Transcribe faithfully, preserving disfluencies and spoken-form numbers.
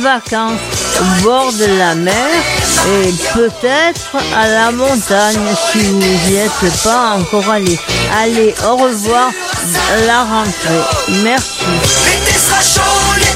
vacances au bord de la mer et peut-être à la montagne si vous n'y êtes pas encore allé. Allez, au revoir, la rentrée. Merci. L'été sera chaud.